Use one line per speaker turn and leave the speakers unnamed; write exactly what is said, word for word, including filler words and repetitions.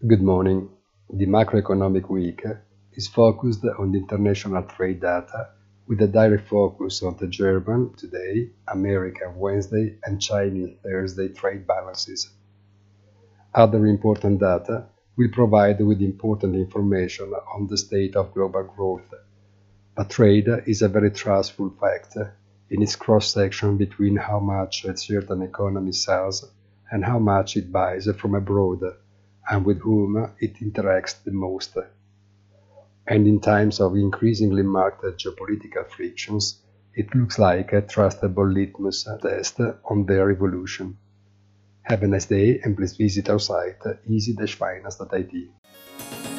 Good morning. The macroeconomic week is focused on the international trade data with a direct focus on the German today, American Wednesday, and Chinese Thursday trade balances. Other important data will provide with important information on the state of global growth, but trade is a very trustful fact in its cross-section between how much a certain economy sells and how much it buys from abroad, and with whom it interacts the most. And in times of increasingly marked geopolitical frictions, it looks like a trustable litmus test on their evolution. Have a nice day and please visit our site easy dash finance dot I T.